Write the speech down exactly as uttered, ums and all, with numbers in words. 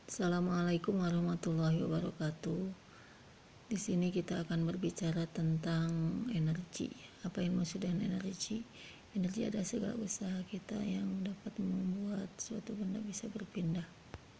Assalamualaikum warahmatullahi wabarakatuh. Di sini kita akan berbicara tentang energi. Apa yang maksud dengan energi? Energi adalah segala usaha kita yang dapat membuat suatu benda bisa berpindah